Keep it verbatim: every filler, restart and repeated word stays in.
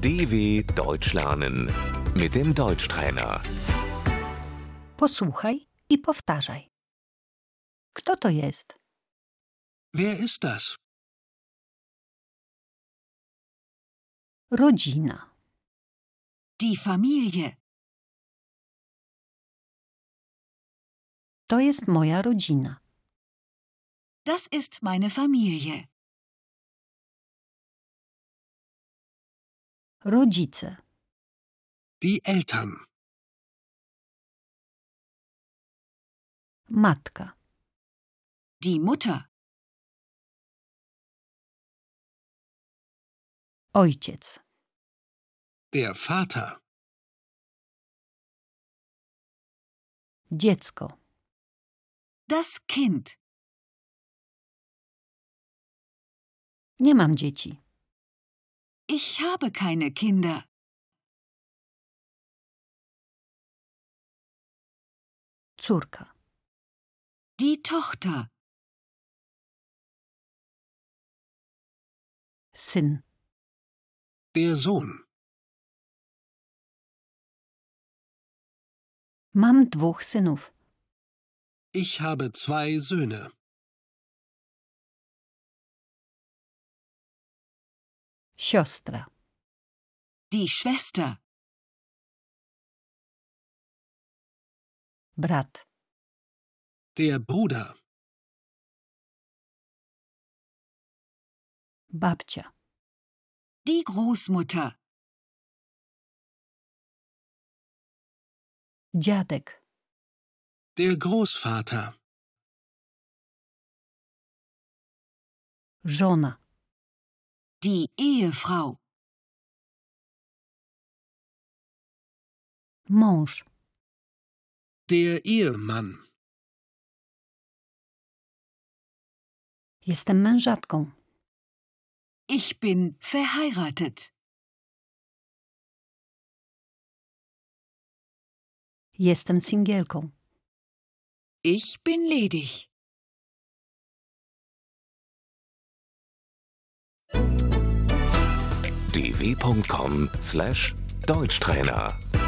D W Deutsch lernen mit dem Deutschtrainer. Posłuchaj i powtarzaj. Kto to jest? Wer ist das? Rodzina. Die Familie. To jest moja rodzina. Das ist meine Familie. Rodzice. Die Eltern. Matka. Die Mutter. Ojciec. Der Vater. Dziecko. Das Kind. Nie mam dzieci. Ich habe keine Kinder. Córka. Die Tochter. Syn. Der Sohn. Mam dwóch synów. Ich habe zwei Söhne. Siostra. Die Schwester. Brat. Der Bruder. Babcia. Die Großmutter. Dziadek. Der Großvater. Żona. Die Ehefrau. Mąż. Der Ehemann. Jestem mężatką. Ich bin verheiratet. Jestem singielką. Ich bin ledig. d w punkt com slash Deutschtrainer